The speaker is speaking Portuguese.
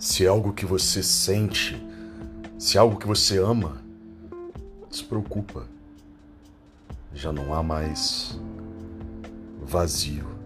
Se é algo que você sente, se é algo que você ama, despreocupa. Já não há mais vazio.